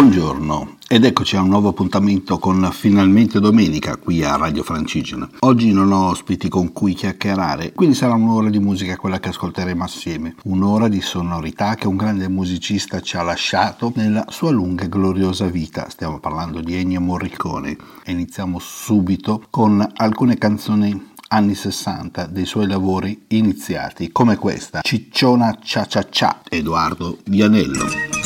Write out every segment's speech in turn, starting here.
Buongiorno ed eccoci a un nuovo appuntamento con Finalmente Domenica qui a Radio Francigena. Oggi non ho ospiti con cui chiacchierare, quindi sarà un'ora di musica quella che ascolteremo assieme, un'ora di sonorità che un grande musicista ci ha lasciato nella sua lunga e gloriosa vita. Stiamo parlando di Ennio Morricone e iniziamo subito con alcune canzoni anni 60 dei suoi lavori iniziati, come questa, Cicciona Cia Cia Cia, Edoardo Vianello.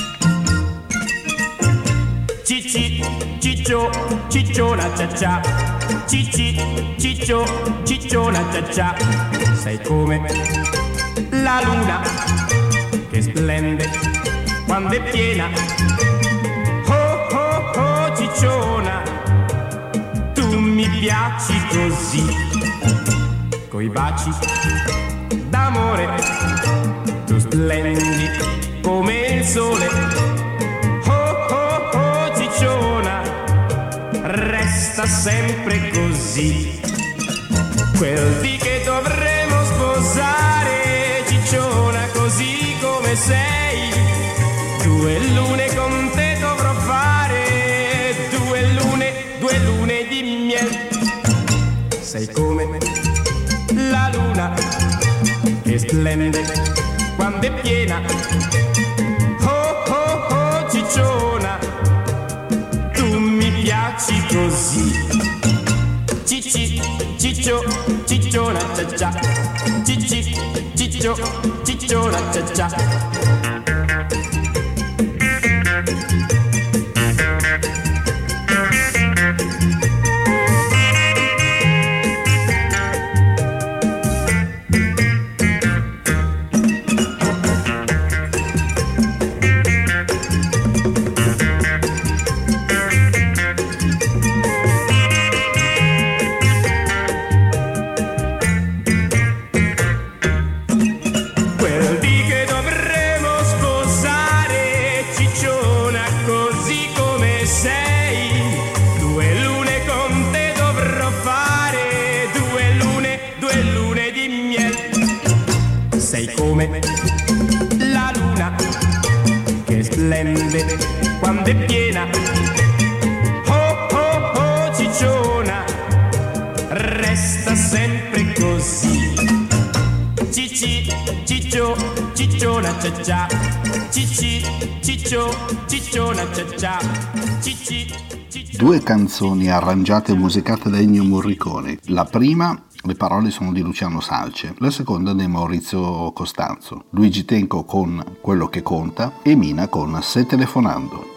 Cicci, ciccio, cicciona cia cia. Cicci, ciccio, cicciona cia cia. Sei come la luna che splende quando è piena. Oh oh oh cicciona, tu mi piaci così. Coi baci d'amore tu splendi come il sole. Resta sempre così. Quel dì che dovremo sposare, cicciona, così come sei. 2 lune con te dovrò fare, 2 lune di miele. Sei come la luna che splende quando è piena. Oh oh oh cicciona, piaci così. Cicci, ciccio, cicciona cia cia. Cicci, ciccio, cicciona cia cia. La luna che splende quando è piena. Oh oh oh cicciona, resta sempre così. Cicci, ciccio, cicciona cia cia. Cicci, ciccio, cicciona cia cia. Cicci, ciccio. 2 canzoni arrangiate e musicate da Ennio Morricone. La prima, le parole sono di Luciano Salce, la seconda di Maurizio Costanzo, Luigi Tenco con Quello che conta e Mina con Se telefonando.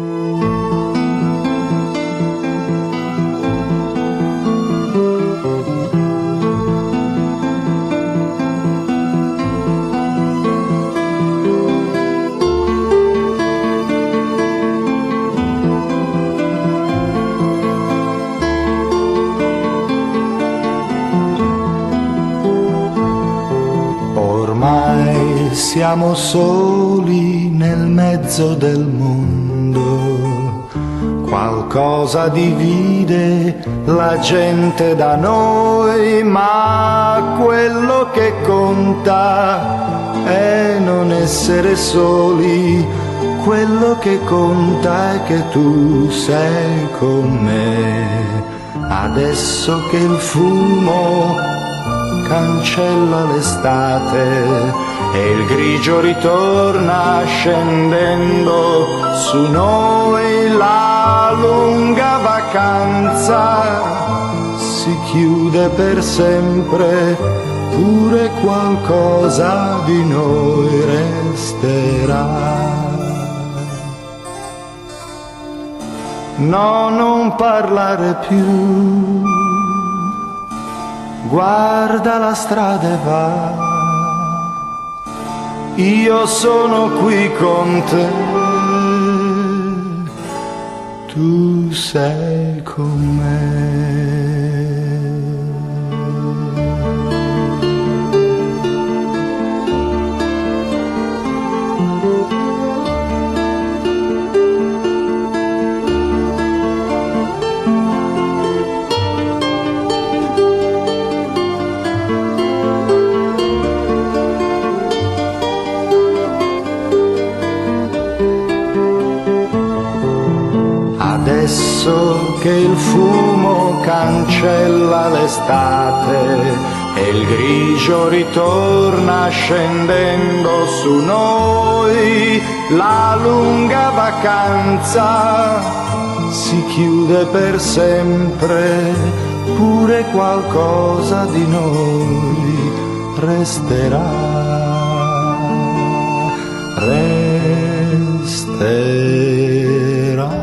Siamo soli nel mezzo del mondo, qualcosa divide la gente da noi, ma quello che conta è non essere soli, quello che conta è che tu sei con me. Adesso che il fumo cancella l'estate e il grigio ritorna scendendo su noi, la lunga vacanza si chiude per sempre, pure qualcosa di noi resterà. No, non parlare più, guarda la strada e va. Io sono qui con te, tu sei con me. Adesso che il fumo cancella l'estate e il grigio ritorna scendendo su noi, la lunga vacanza si chiude per sempre, pure qualcosa di noi resterà, resterà.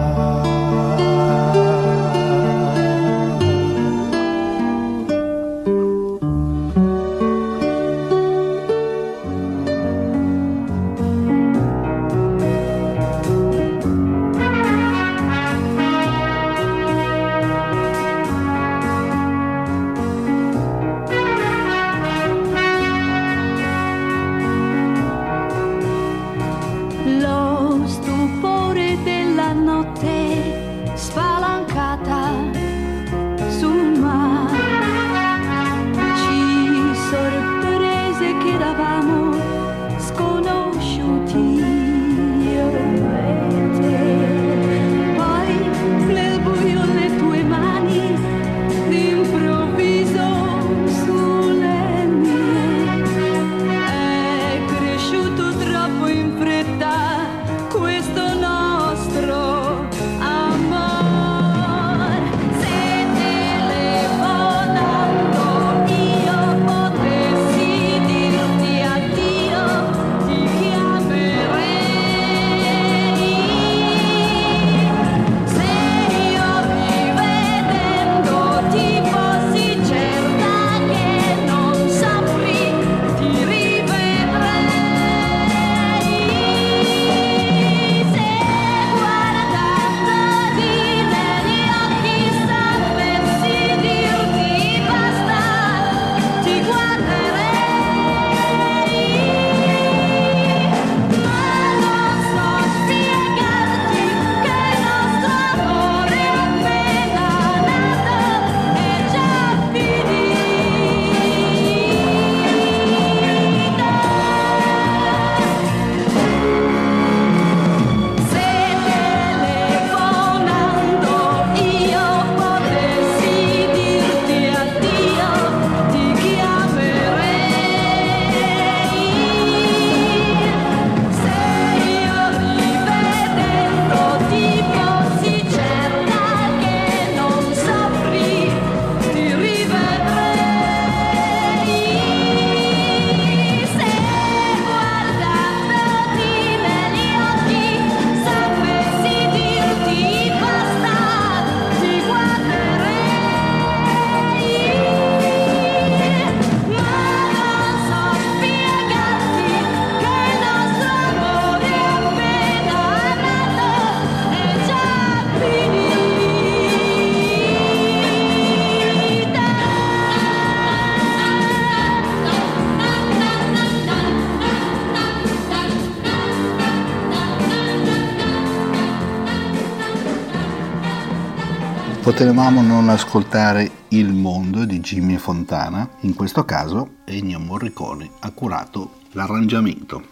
Potevamo non ascoltare Il mondo di Jimmy Fontana, in questo caso Ennio Morricone ha curato l'arrangiamento.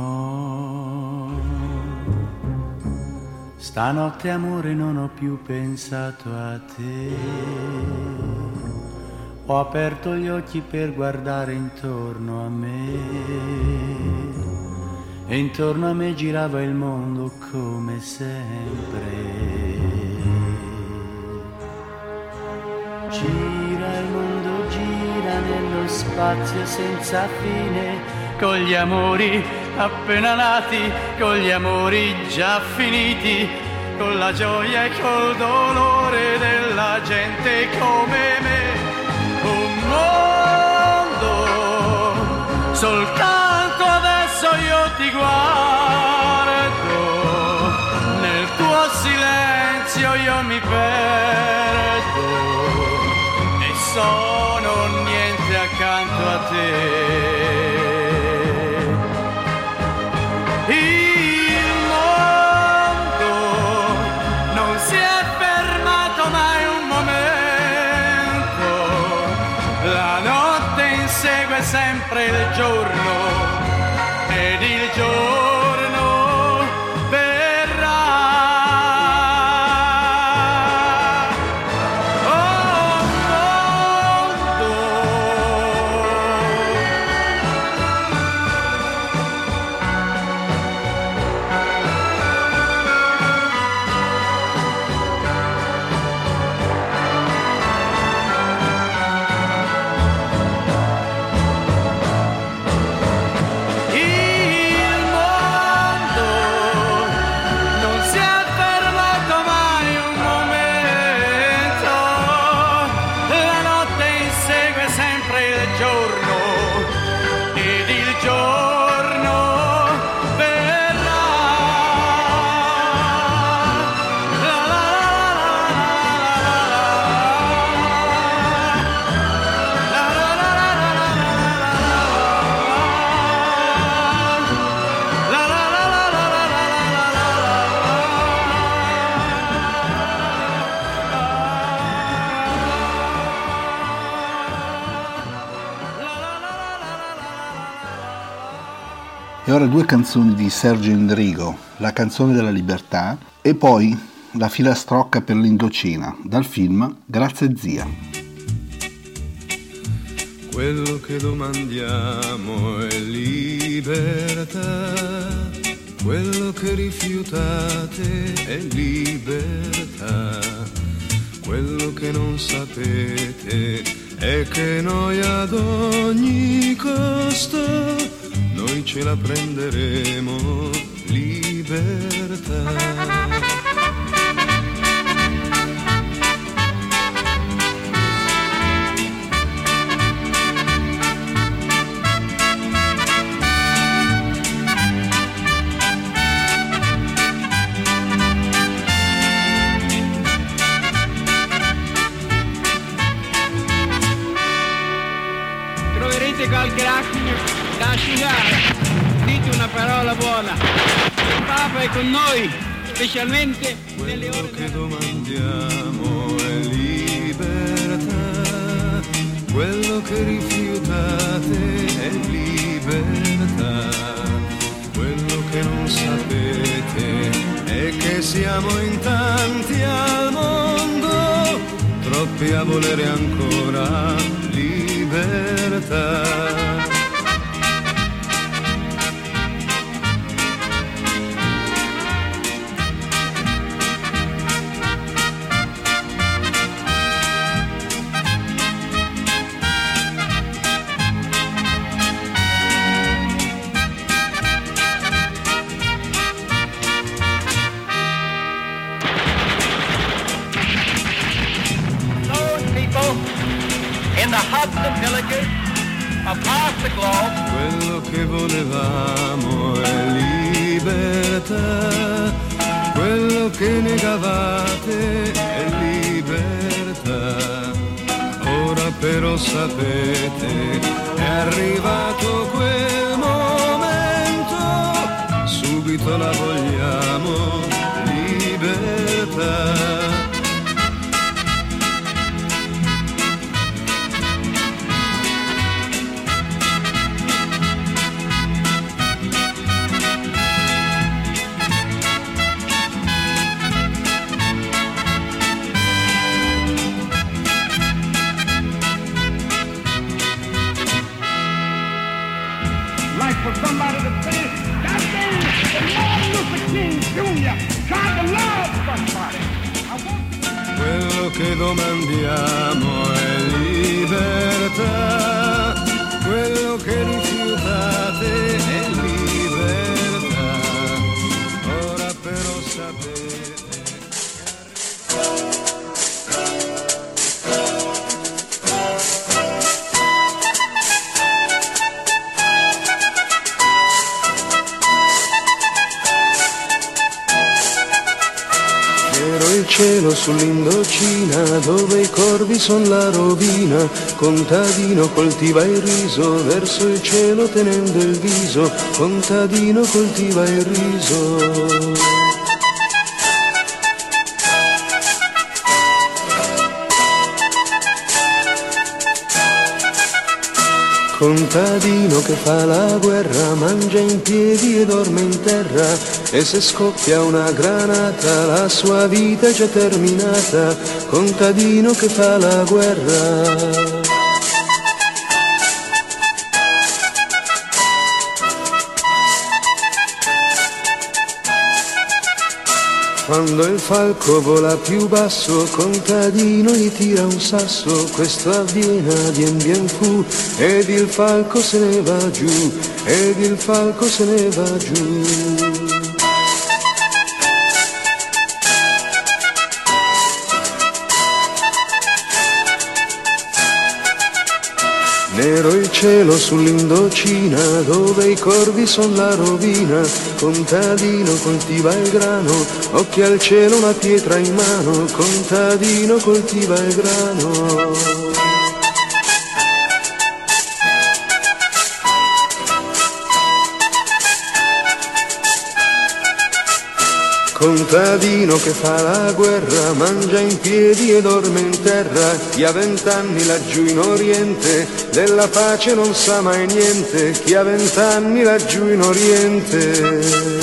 No, stanotte amore non ho più pensato a te, ho aperto gli occhi per guardare intorno a me e intorno a me girava il mondo come sempre. Gira il mondo, gira nello spazio senza fine, con gli amori appena nati, con gli amori già finiti, con la gioia e col dolore della gente come me. Un mondo, soltanto adesso io ti guardo, nel tuo silenzio io mi perdo. Sono niente accanto a te. Il mondo non si è fermato mai un momento, la notte insegue sempre il giorno ed il giorno verrà. ora 2 canzoni di Sergio Endrigo, La canzone della libertà e poi La filastrocca per l'Indocina, dal film Grazie zia. Quello che domandiamo è libertà, quello che rifiutate è libertà, quello che non sapete è che noi ad ogni costo noi ce la prenderemo, libertà. Qualche attimo da asciugare, dite una parola buona, il Papa è con noi, specialmente nelle ore che domandiamo è libertà, quello che rifiutate è libertà, quello che non sapete è che siamo in tanti al mondo, troppi a volere ancora libertà. Quello che volevamo è libertà, quello che negavate è libertà. Ora però sapete, è arrivato quel momento, subito la vogliamo, libertà. For somebody to finish that thing that Martin Luther King Jr. tried to love somebody. Quello che domandiamo è libertà, quello che rifiutate è libertà. Ora però sapete. Il cielo sull'Indocina, dove i corvi son la rovina, contadino coltiva il riso, verso il cielo tenendo il viso, contadino coltiva il riso. Contadino che fa la guerra, mangia in piedi e dorme in terra, e se scoppia una granata la sua vita è già terminata. Contadino che fa la guerra. Quando il falco vola più basso, contadino gli tira un sasso, questo avviene, bien fu, ed il falco se ne va giù, ed il falco se ne va giù. Nero il cielo sull'Indocina, dove i corvi son la rovina, contadino coltiva il grano, occhi al cielo una pietra in mano, contadino coltiva il grano. Contadino che fa la guerra, mangia in piedi e dorme in terra. Chi ha 20 anni laggiù in Oriente, della pace non sa mai niente. Chi ha 20 anni laggiù in Oriente.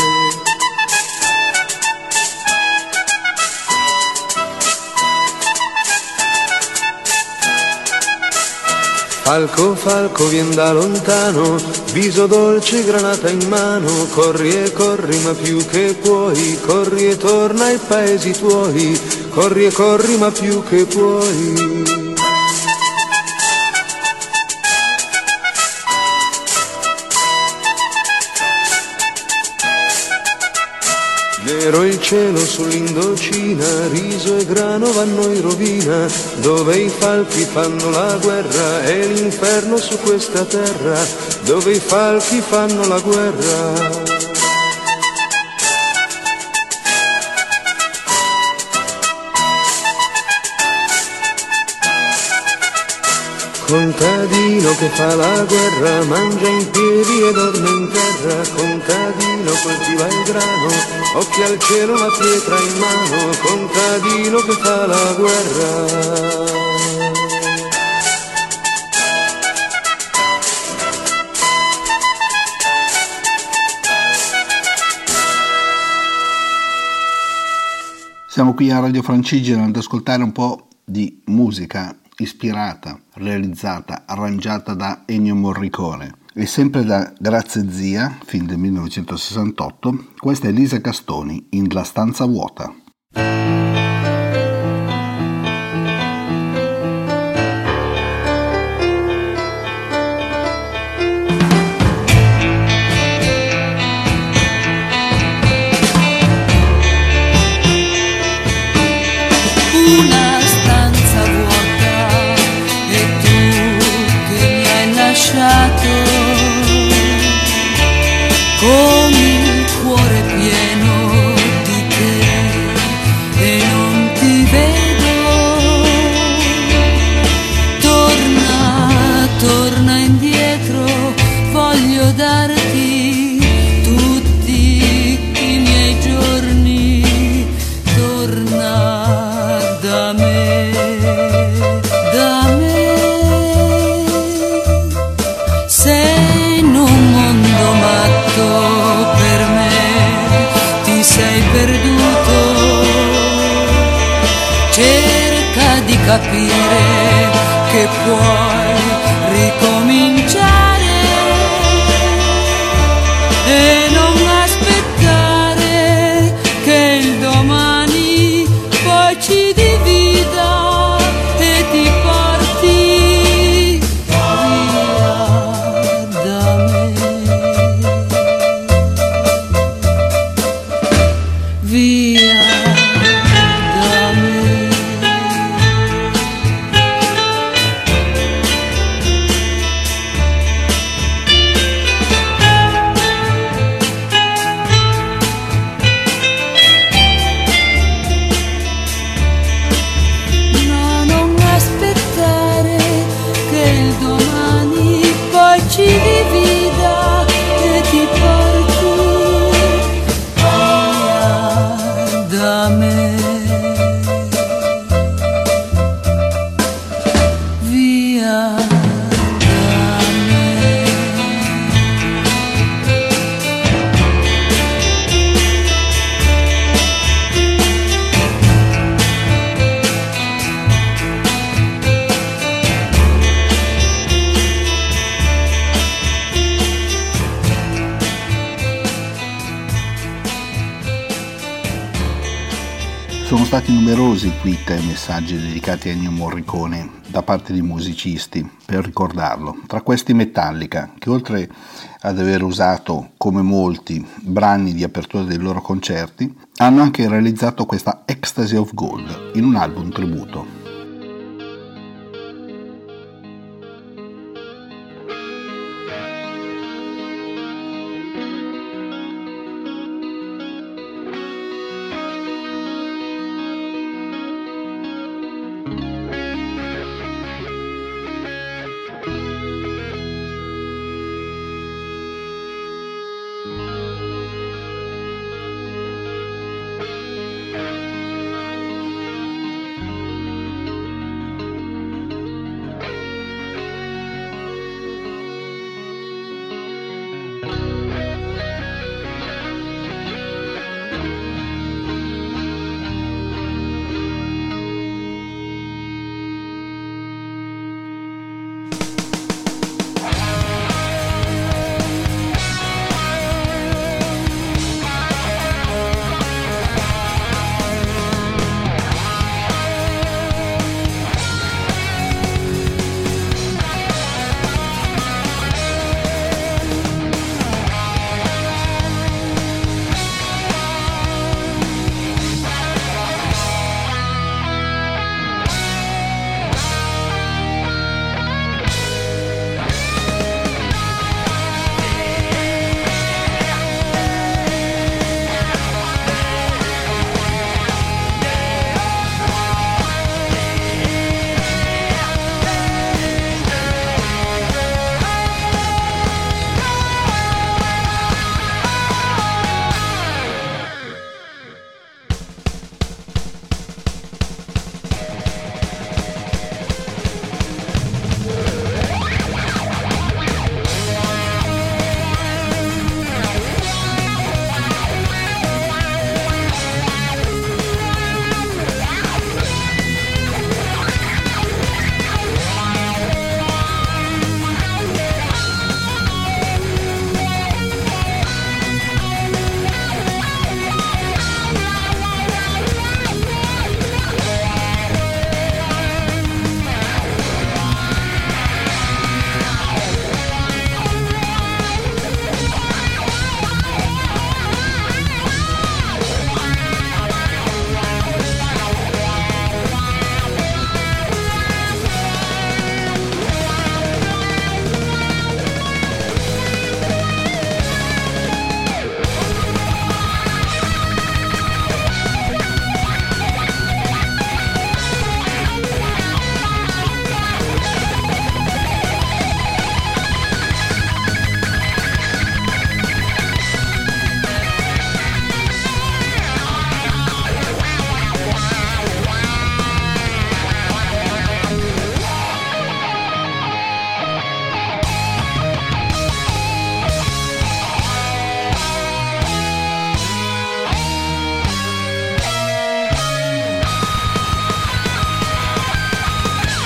Falco, falco, vien da lontano, viso dolce, granata in mano. Corri e corri ma più che puoi, corri e torna ai paesi tuoi. Corri e corri ma più che puoi. Nero il cielo sull'Indocina, riso e grano vanno in rovina, dove i falchi fanno la guerra, è l'inferno su questa terra, dove i falchi fanno la guerra. Contadino che fa la guerra, mangia in piedi e dorme in terra. Contadino coltiva il grano, occhi al cielo, una pietra in mano. Contadino che fa la guerra. Siamo qui a Radio Francigena ad ascoltare un po' di musica ispirata, realizzata, arrangiata da Ennio Morricone e sempre da Grazie Zia, film del 1968. Questa è Lisa Castoni in La stanza vuota. Con il cuore pieno di te e non ti vedo. Torna, torna indietro, voglio darti tutti i miei giorni. Torna da me, da me. Sei in un mondo matto per me, ti sei perduto. Cerca di capire che puoi ricominciare e non aspettare che il domani poi ci divida e ti porti via da me, via da me. No, non aspettare che il domani poi ci divida e ti porti via da me, via da me. Sono stati numerosi i tweet e messaggi dedicati a Ennio Morricone da parte di musicisti per ricordarlo. Tra questi Metallica, che oltre ad aver usato, come molti, brani di apertura dei loro concerti, hanno anche realizzato questa Ecstasy of Gold in un album tributo.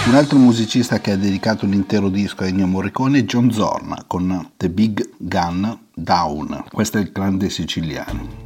Un altro musicista che ha dedicato l'intero disco a Ennio Morricone è John Zorn con The Big Gun Down. Questo è il grande siciliano.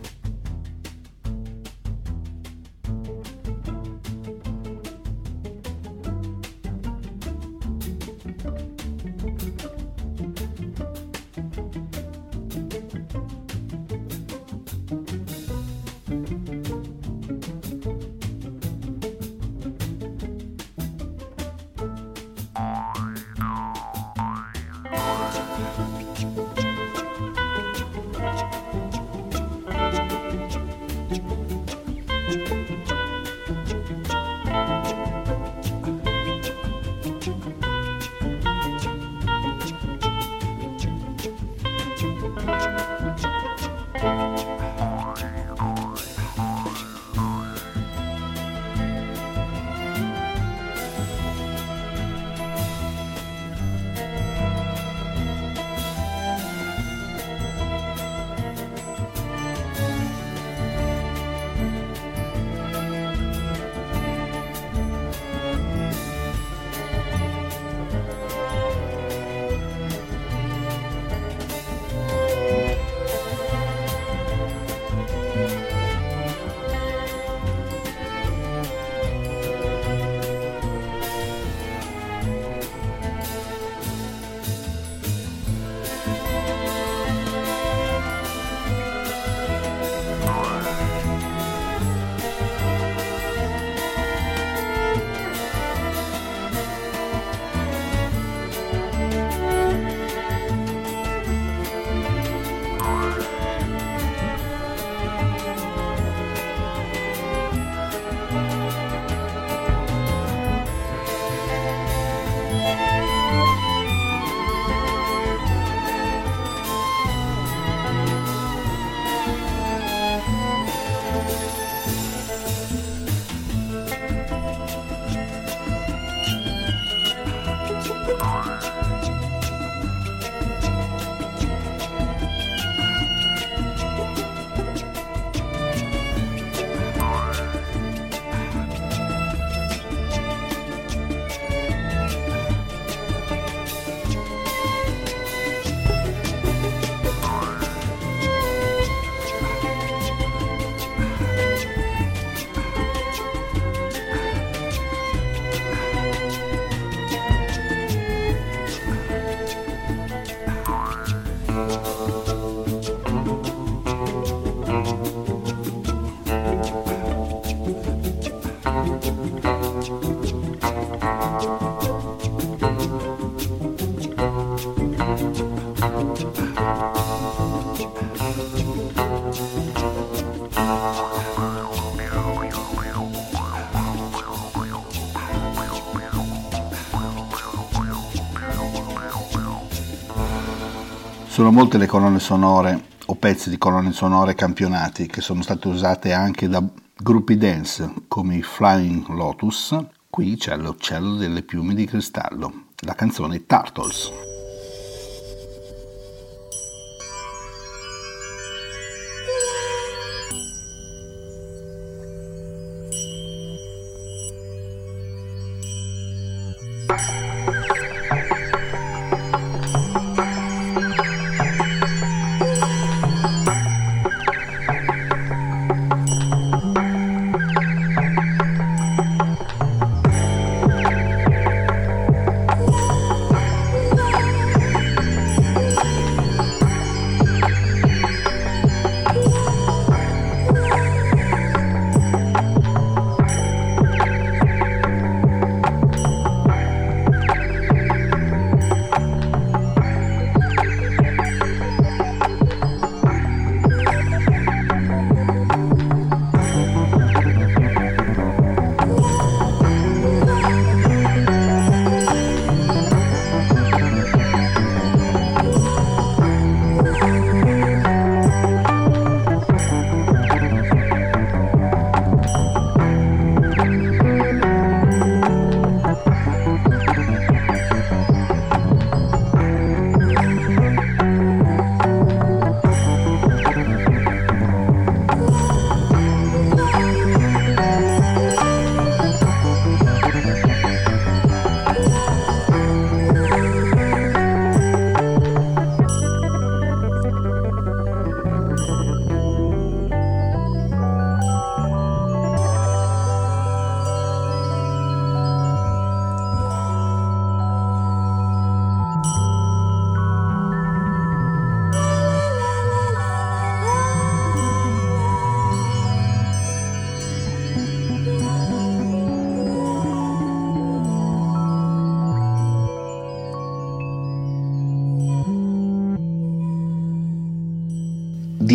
Sono molte le colonne sonore o pezzi di colonne sonore campionati che sono state usate anche da gruppi dance come i Flying Lotus. Qui c'è l'uccello delle piume di cristallo, la canzone Turtles.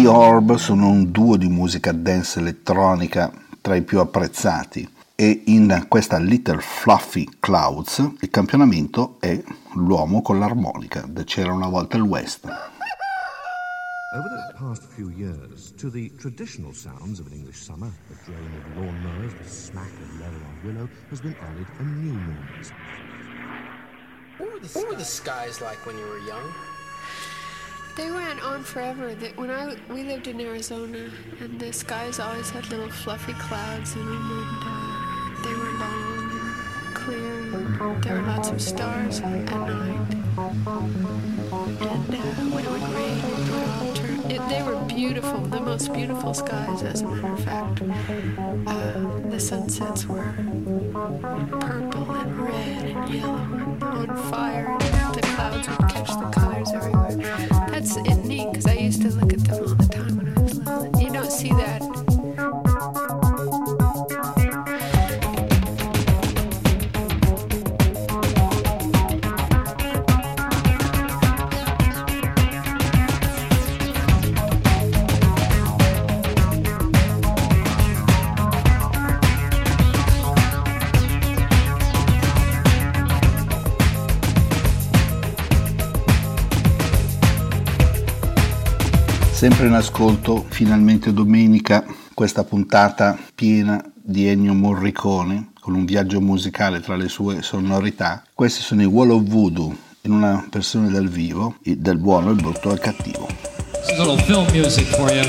The Orb sono un duo di musica dance elettronica tra i più apprezzati e in questa Little Fluffy Clouds il campionamento è l'uomo con l'armonica, C'era una volta il West. Over the past few years, to the traditional sounds of an English summer, the drone of lawnmowers, the smack of leather on willow, has been added a new noise. What were the skies like when you were young? They went on forever. We lived in Arizona, and the skies always had little fluffy clouds in them, and they were long and clear, and there were lots of stars at night. And when it would rain, it would all turn. They were beautiful, the most beautiful skies, as a matter of fact. The sunsets were purple and red and yellow and on fire, and the clouds would catch the colors everywhere. That's neat, because I used to look at them all the time when I was little. You don't see that. Sempre in ascolto, finalmente domenica, questa puntata piena di Ennio Morricone, con un viaggio musicale tra le sue sonorità. Questi sono i Wall of Voodoo, in una versione dal vivo, del buono, il brutto e il cattivo. This is a little film music for you.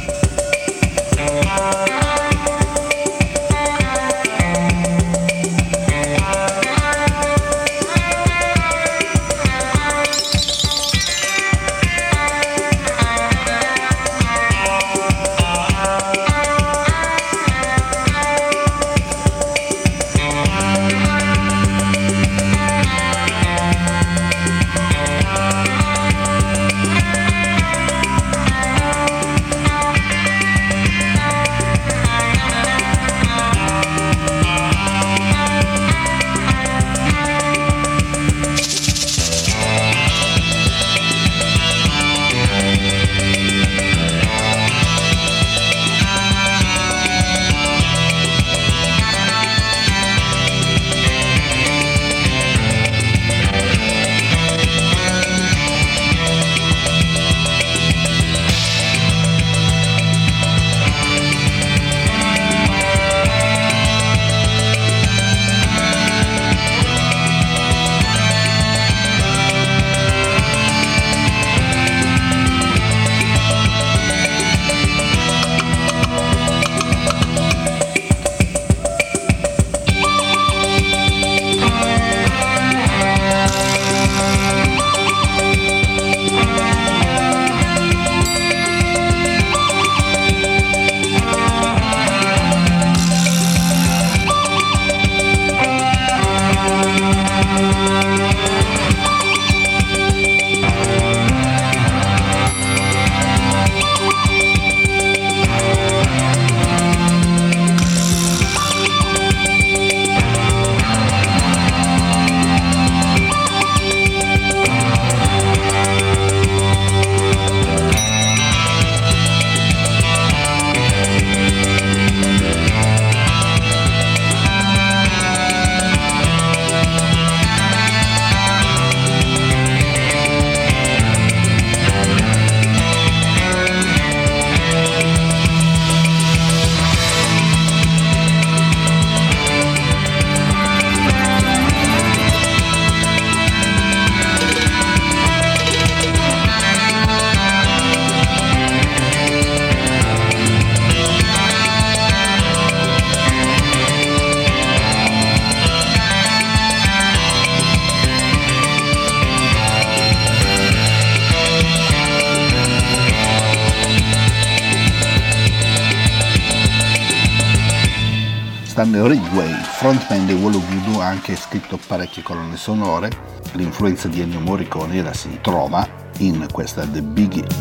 Stanley Ridgway, frontman dei Wall of Voodoo, ha anche scritto parecchie colonne sonore. L'influenza di Ennio Morricone la si trova in questa The Big Hit.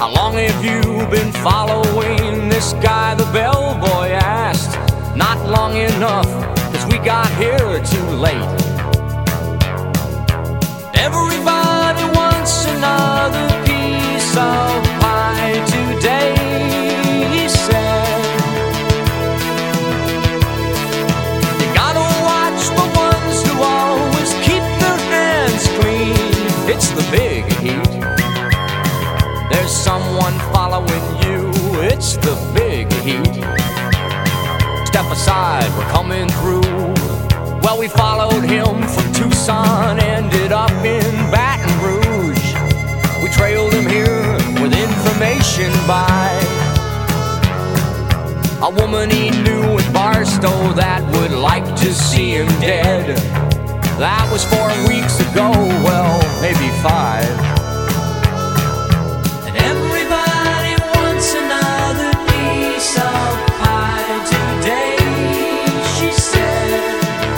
How long have you been following this guy, the bellboy asked. Not long enough, 'cause we got here too late. Everybody wants another piece of pie today, he said. You gotta watch the ones who always keep their hands clean. It's the big heat. There's someone following you. It's the big heat. Step aside, we're coming through. Well, we followed him from Tucson, ended up in Baton Rouge. We trailed him here with information by a woman he knew in Barstow that would like to see him dead. That was 4 weeks ago, well, maybe 5. And everybody wants another piece of pie today, she said.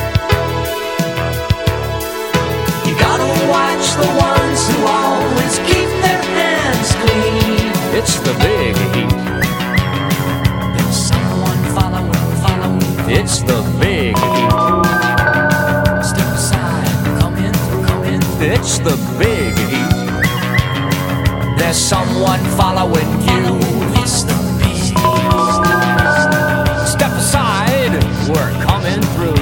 You gotta watch the ones who always keep their hands clean. It's the big heat. There's someone following. It's the big heat. Step aside, come in. It's the big heat. There's someone following you. It's the big heat. Step aside, we're coming through.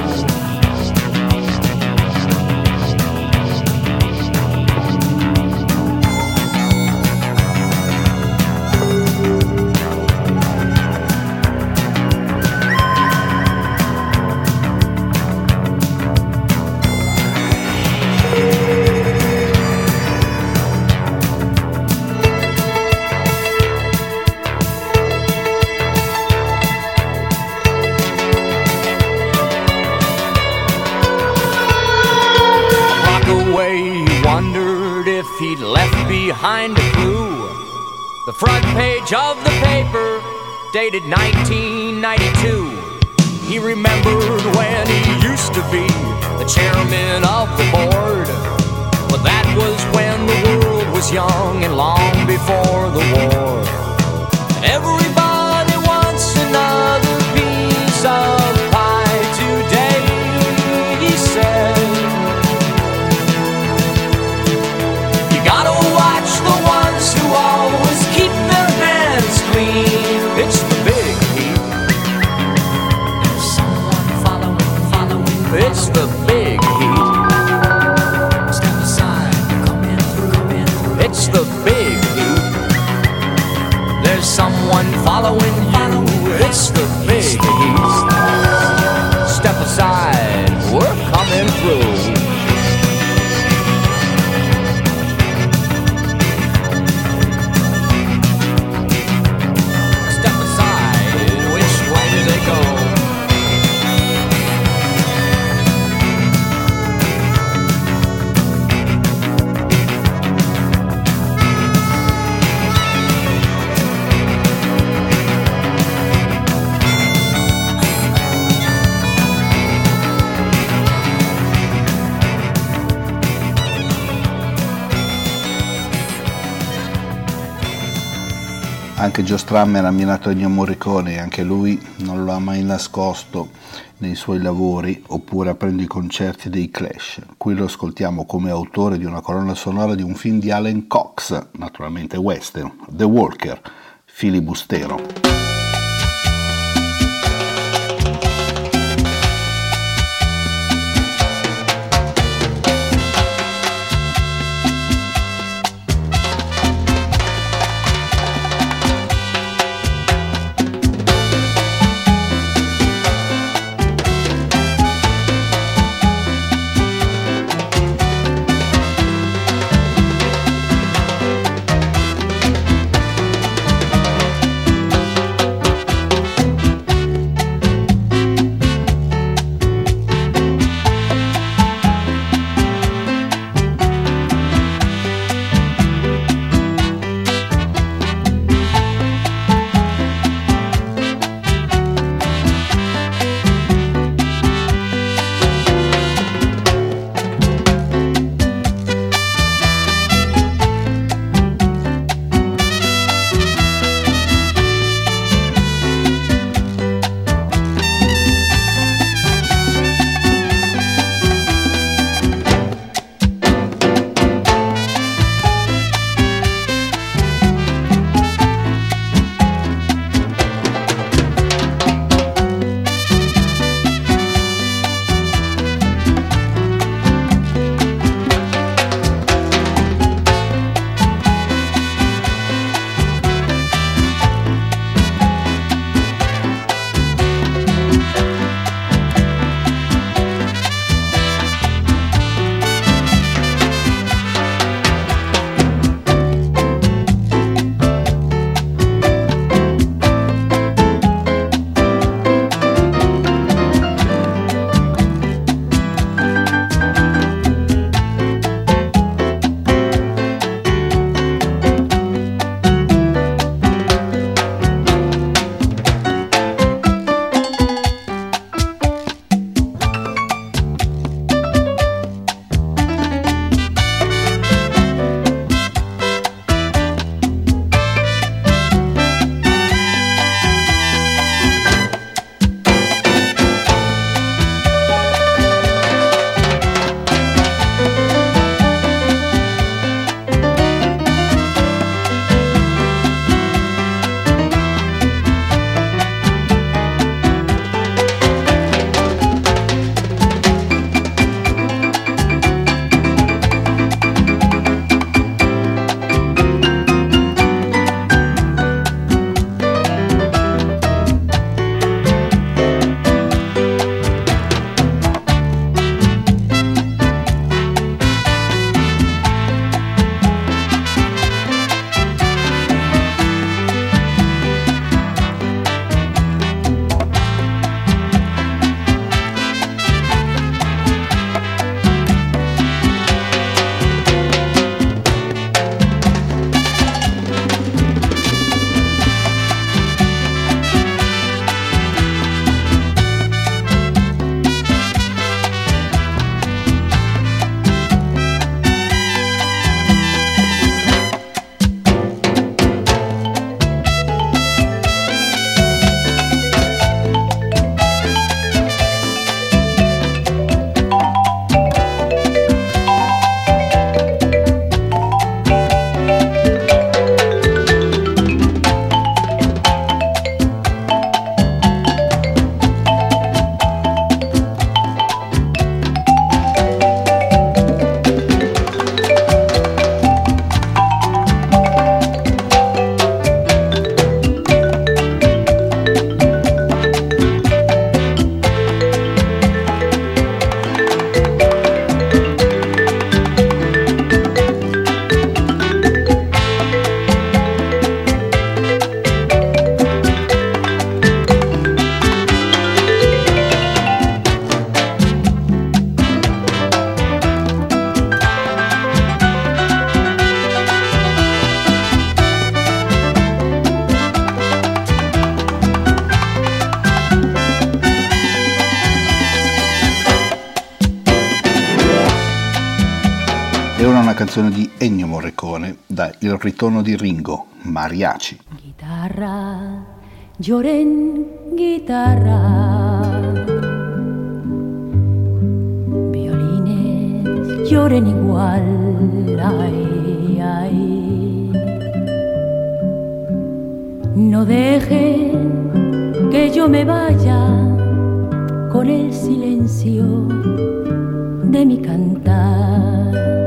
He'd left behind a clue. The front page of the paper, dated 1992. He remembered when he used to be the chairman of the board. But that was when the world was young and long before the war. Everybody wants another piece of pie today, he said. It's the big heat. There's someone following. It's the big heat. Step aside, come in through. It's the big heat. There's someone following you. It's the big heat. Step aside, we're coming through. Anche Joe Strummer ha ammirato Ennio Morricone e anche lui non lo ha mai nascosto nei suoi lavori oppure aprendo i concerti dei Clash. Qui lo ascoltiamo come autore di una colonna sonora di un film di Allen Cox, naturalmente western, The Walker, filibustero. E ora una canzone di Ennio Morricone da Il ritorno di Ringo, Mariachi. Guitarra, lloren guitarra, violines lloren igual, ay, ay. No dejen que yo me vaya con el silencio de mi cantar.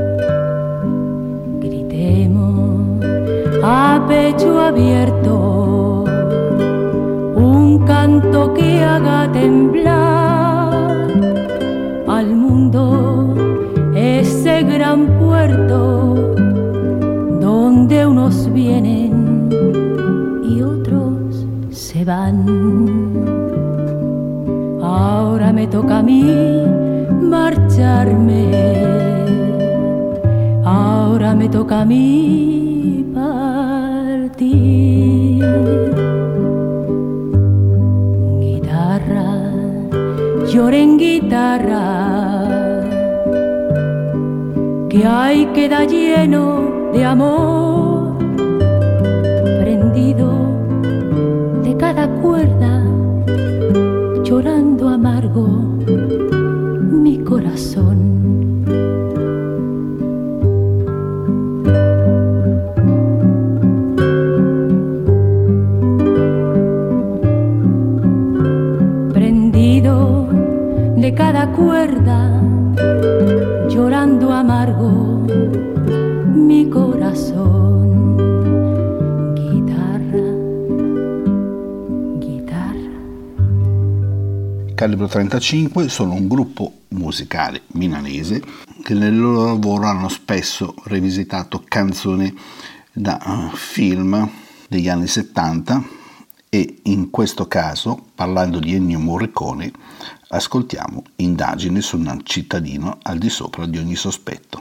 Gritemos a pecho abierto un canto que haga temblar al mundo, ese gran puerto donde unos vienen y otros se van. Ahora me toca a mí marcharme, ahora me toca a mí partir. Guitarra, lloren guitarra, que hay queda lleno de amor, prendido de cada cuerda, llorando amargo mi corazón. Prendido de cada cuerda, llorando amargo mi corazón. Guitarra, guitarra. Calibro 35 sono un gruppo musicale milanese che nel loro lavoro hanno spesso rivisitato canzoni da film degli anni 70 e in questo caso, parlando di Ennio Morricone, ascoltiamo Indagine su un cittadino al di sopra di ogni sospetto.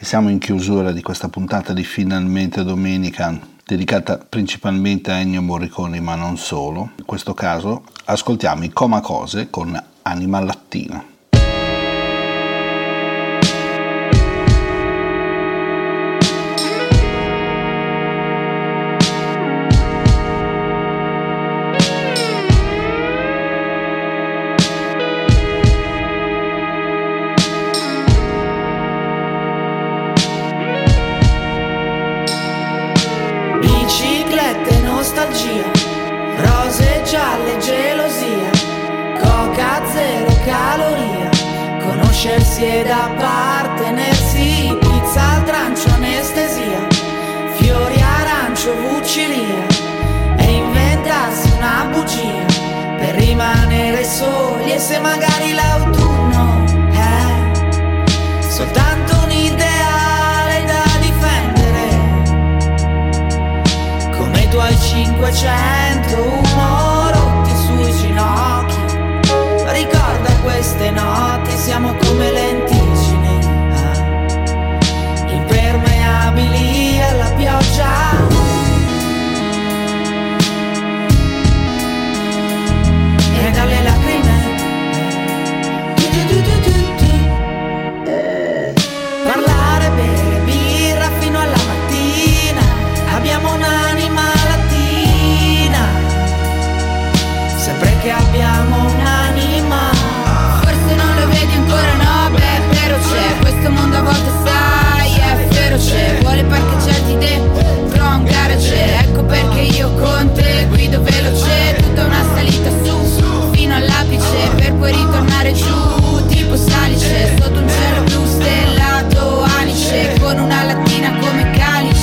Siamo in chiusura di questa puntata di Finalmente Domenica, dedicata principalmente a Ennio Morricone, ma non solo. In questo caso ascoltiamo i Comacose con Anima Lattina. Rose gialle, gelosia, coca zero caloria, conoscersi ed appartenersi, pizza al trancio, anestesia, fiori arancio, vucilia, e inventarsi una bugia per rimanere soli. E se magari l'autunno è soltanto un ideale da difendere, come i tuoi 501 rotti sui ginocchi, ricorda queste notti, siamo come lenticini, impermeabili alla pioggia. E dalle lacrime parlare, bere birra fino alla mattina, abbiamo un'anima latina, sempre che abbiamo un'anima. Forse non lo vedi ancora, no, beh, però c'è, questo mondo a volte sai, è feroce, vuole parcheggiarti dentro un garage, ecco perché io con te guido veloce, tutta una salita su, fino all'apice, per poi ritornare giù, tipo salice, sotto un cielo blu stellato, anice, con una lattina come calice.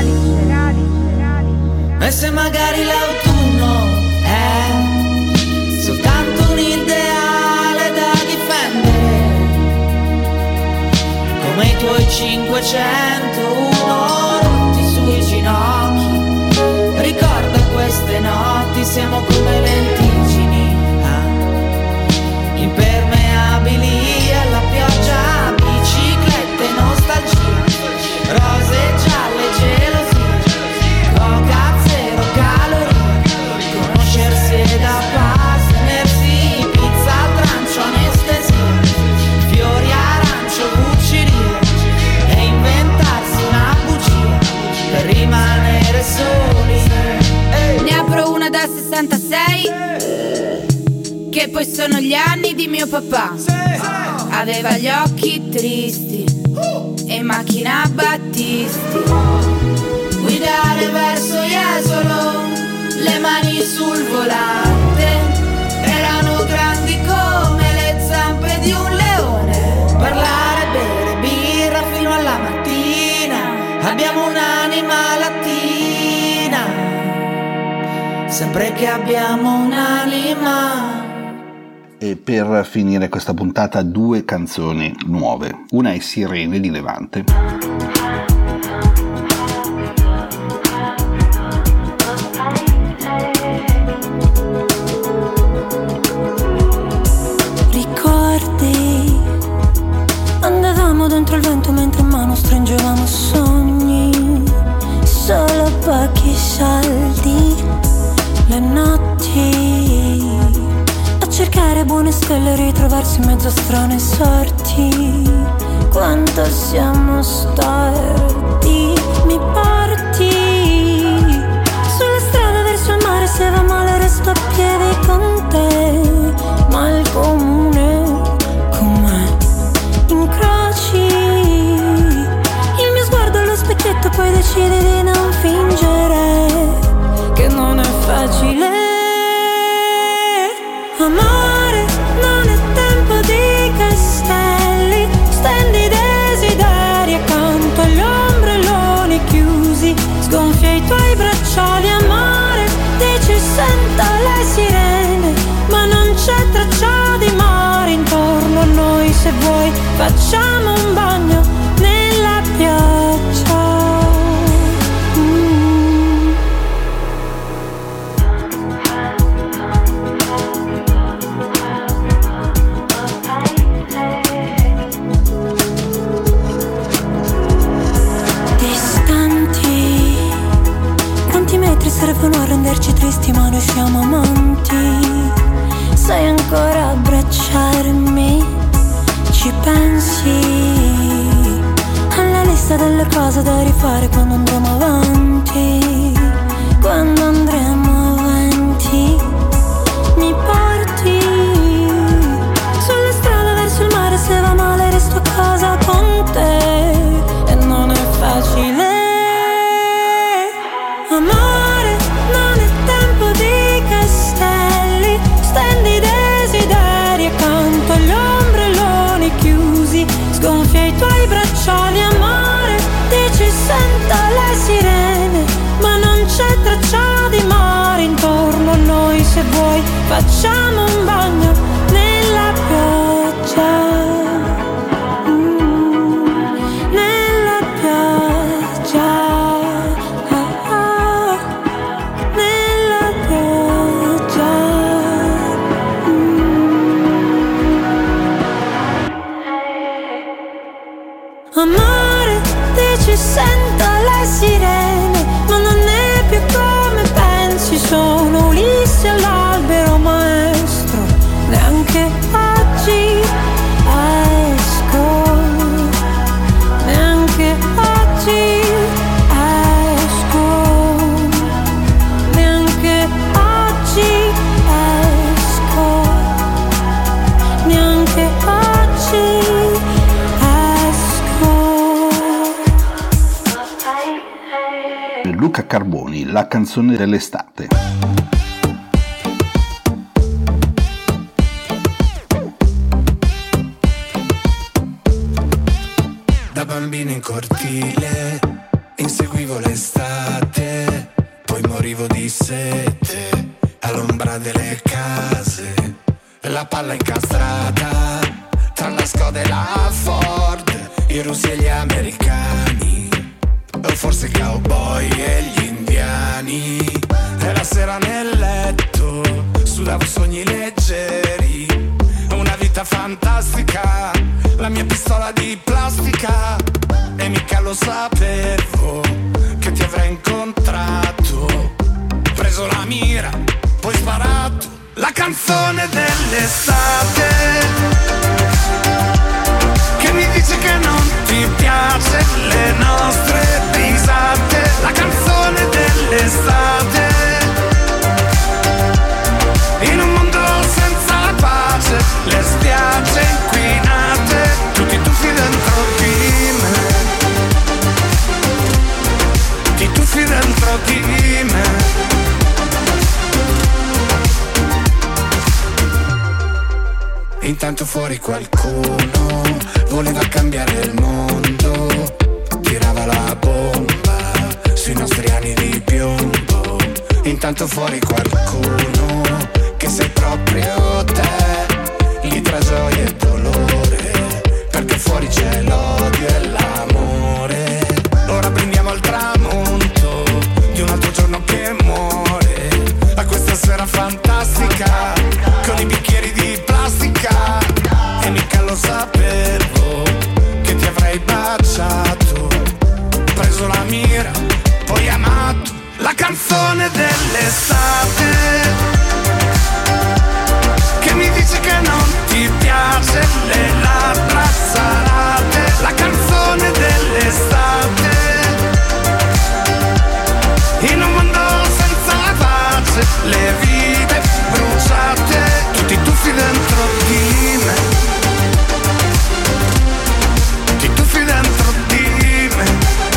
E se magari l'autunno è soltanto un ideale da difendere, come i tuoi 501 rotti sui ginocchi, ricorda queste notti, siamo come lenticini, impermeabili alla pioggia, biciclette, nostalgia, rose gialle, gelosia, coca zero calorie, conoscersi ed appartenersi, pizza al trancio, anestesia, fiori arancio, bucceria, e inventarsi una bugia per rimanere soli. Ne apro una da 66, che poi sono gli anni di mio papà. Aveva gli occhi tristi e in macchina Battisti, guidare verso Jesolo, le mani sul volante, erano grandi come le zampe di un leone. Parlare, bere birra fino alla mattina, abbiamo un'anima latina, sempre che abbiamo un'anima. E per finire questa puntata 2 canzoni nuove. Una è Sirene di Levante. Ricordi, andavamo dentro il vento mentre in mano stringevamo sogni, solo pochi soldi, le notti a cercare buone stelle, ritrovarsi in mezzo a strane sorti. Quanto siamo storti, mi porti sulla strada verso il mare, se va male resto a piedi con te, ma il comune con me incroci il mio sguardo allo specchietto, poi decidi di non fingere che non è facile. Amore, non è tempo di castelli, stendi desideri accanto agli ombrelloni chiusi, sgonfia i tuoi bracciali. Amore, dici sento le sirene, ma non c'è traccia di mare intorno a noi. Se vuoi facciamo un bagno nella pioggia. altri servono a renderci tristi, ma noi siamo amanti. Sai ancora abbracciarmi? Ci pensi alla lista delle cose da rifare quando andremo avanti? Quando andremo avanti mi porti sulla strada verso il mare, se va male resto a casa con te e non è facile. Amore, non è tempo di castelli, stendi desideri accanto agli ombrelloni chiusi, sgonfia i tuoi bracciali. Amore, dici senta le sirene, ma non c'è traccia di mare intorno a noi. Se vuoi facciamo un bagno nella pioggia. Nella pioggia. Nella pioggia. Amore, dici senta le sirene, ma non è più come pensi. Sono Ulisse all'albero maestro, neanche oggi esco, neanche oggi esco, neanche oggi esco, neanche oggi esco. Luca Carboni, la canzone dell'estate. Da bambino in cortile inseguivo l'estate, poi morivo di sete all'ombra delle case, la palla incastrata tra la Skoda e la Ford, i russi e gli americani, o forse i cowboy e gli indiani. E la sera nel letto sudavo sogni leggeri, una vita fantastica, la mia pistola di plastica. E mica lo sapevo che ti avrei incontrato, preso la mira, poi sparato. La canzone dell'estate che mi dice che non ti piace le nostre risate. La canzone dell'estate in un mondo senza pace, le spiagge inquinate, tutti tuffi dentro di me, ti tuffi dentro di me. Intanto fuori qualcuno voleva cambiare il mondo, tirava la bomba sui nostri anni di piombo. Intanto fuori qualcuno che sei proprio te, lì tra gioia e dolore, perché fuori c'è l'odio e l'amore. Ora brindiamo al tramonto di un altro giorno che muore, a questa sera fantastica con i bicchieri di plastica. E mica lo sapevo che ti avrei baciato, preso la mira, poi amato. La canzone dell'estate che mi dice che non ti piace le labbra salate. La canzone dell'estate in un mondo senza pace, le vite bruciate, tutti tuffi dentro di me, ti tuffi dentro di me,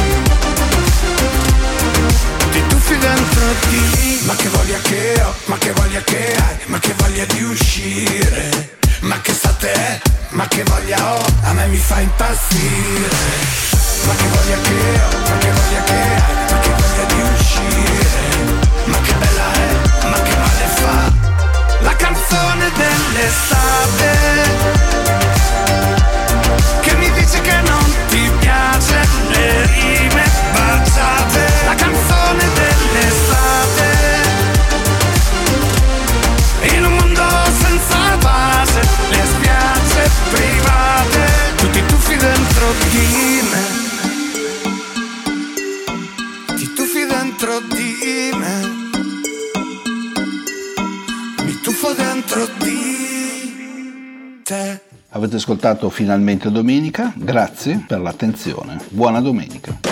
ti tuffi dentro di me. Ma che voglia che ho, ma che voglia che hai, ma che voglia di uscire, ma che state è, ma che voglia ho, a me mi fa impazzire. Ma che voglia che ho, ma che voglia che hai, ma che voglia di uscire, ma che bella è, ma che male fa. La canzone dell'estate che mi dice che non ti piace le rime baciate. La canzone dell'estate in un mondo senza pace, le spiagge private, tutti tuffi dentro di me, ti tuffi dentro di di me, mi tuffo dentro di te. Avete ascoltato Finalmente Domenica, grazie per l'attenzione, buona domenica.